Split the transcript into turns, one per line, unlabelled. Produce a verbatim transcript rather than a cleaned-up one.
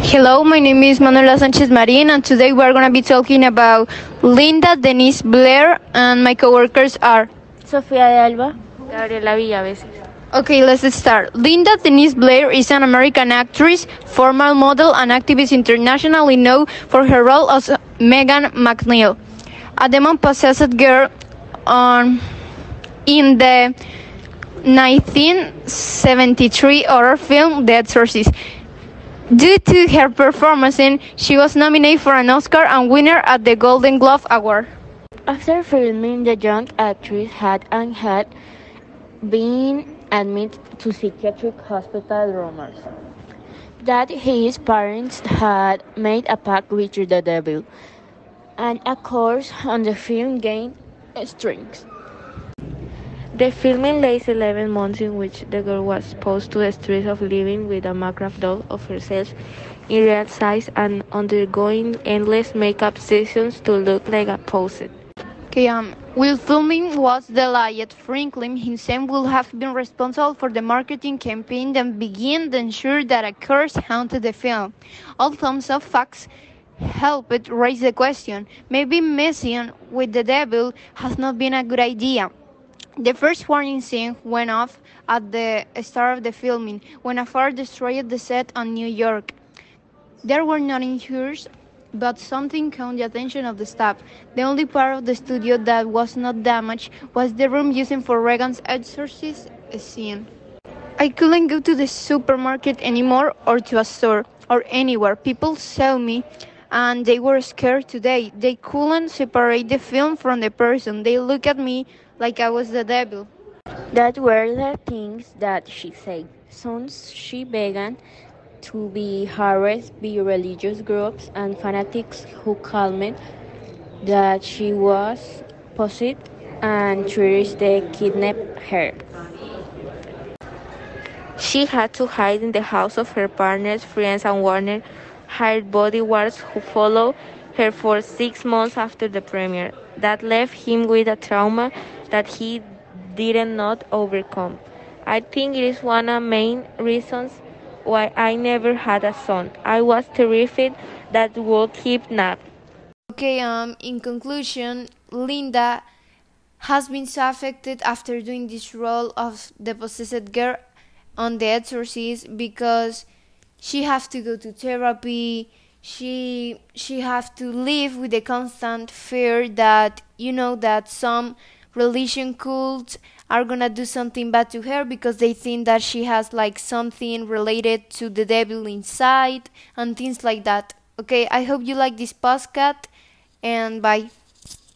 Hello, my name is Manuela Sanchez Marin, and today we are going to be talking about Linda Denise Blair, and my coworkers are.
Sofía de Alba.
Gabriela Villaveses.
Okay, let's start. Linda Denise Blair is an American actress, former model, and activist internationally known for her role as Megan McNeil, a demon-possessed girl on, in the nineteen seventy-three horror film The Exorcist. Due to her performance, she was nominated for an Oscar and winner at the Golden Globe Award.
After filming, the young actress had and had been admitted to psychiatric hospital. Rumors that his parents had made a pact with the devil, and a course on the film gained strength.
The filming lasts eleven months, in which the girl was exposed to the stress of living with a macabre doll of herself in real size and undergoing endless makeup sessions to look like a posset.
Okay, um, while filming was delayed, Franklin himself will have been responsible for the marketing campaign that began to ensure that a curse haunted the film. Although some facts helped raise the question, maybe messing with the devil has not been a good idea. The first warning scene went off at the start of the filming, when a fire destroyed the set on New York. There were no injuries, but something caught the attention of the staff. The only part of the studio that was not damaged was the room used for Regan's exorcist scene. I couldn't go to the supermarket anymore, or to a store, or anywhere. People saw me, and they were scared today. They couldn't separate the film from the person. They looked at me like I was the devil.
That were the things that she said. Soon she began to be harassed by religious groups and fanatics who claimed that she was possessed and tried to kidnap her.
She had to hide in the house of her partners, friends, and Warner hired bodyguards who followed her for six months after the premiere. That left him with a trauma that he did not overcome. I think it is one of the main reasons why I never had a son. I was terrified that would kidnap.
Okay, um, in conclusion, Linda has been so affected after doing this role of the possessed girl on The Exorcist, because she has to go to therapy. She she have to live with the constant fear that, you know, that some religion cults are gonna do something bad to her because they think that she has like something related to the devil inside and things like that. Okay, I hope you like this podcast, and bye.